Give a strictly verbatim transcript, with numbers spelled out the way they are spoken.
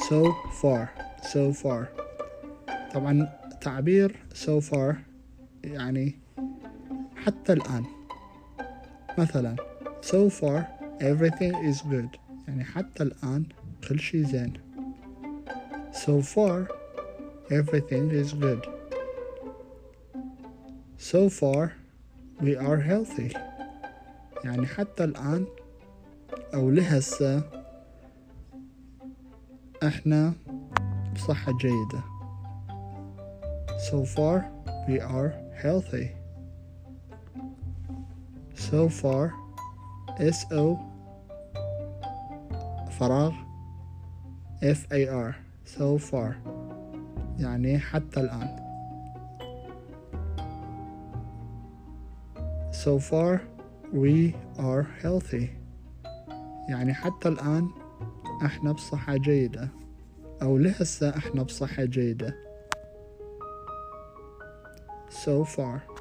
so far so far. طبعا تعبير so far يعني حتى الآن. مثلا so far everything is good يعني حتى الآن كل شي زين. so far everything is good. so far we are healthy يعني حتى الآن أو لهسه إحنا بصحة جيدة. so far we are healthy. so far so فراغ far so far يعني حتى الآن. so far we are healthy يعني حتى الآن احنا بصحة جيدة أو لهسه احنا بصحة جيدة. so far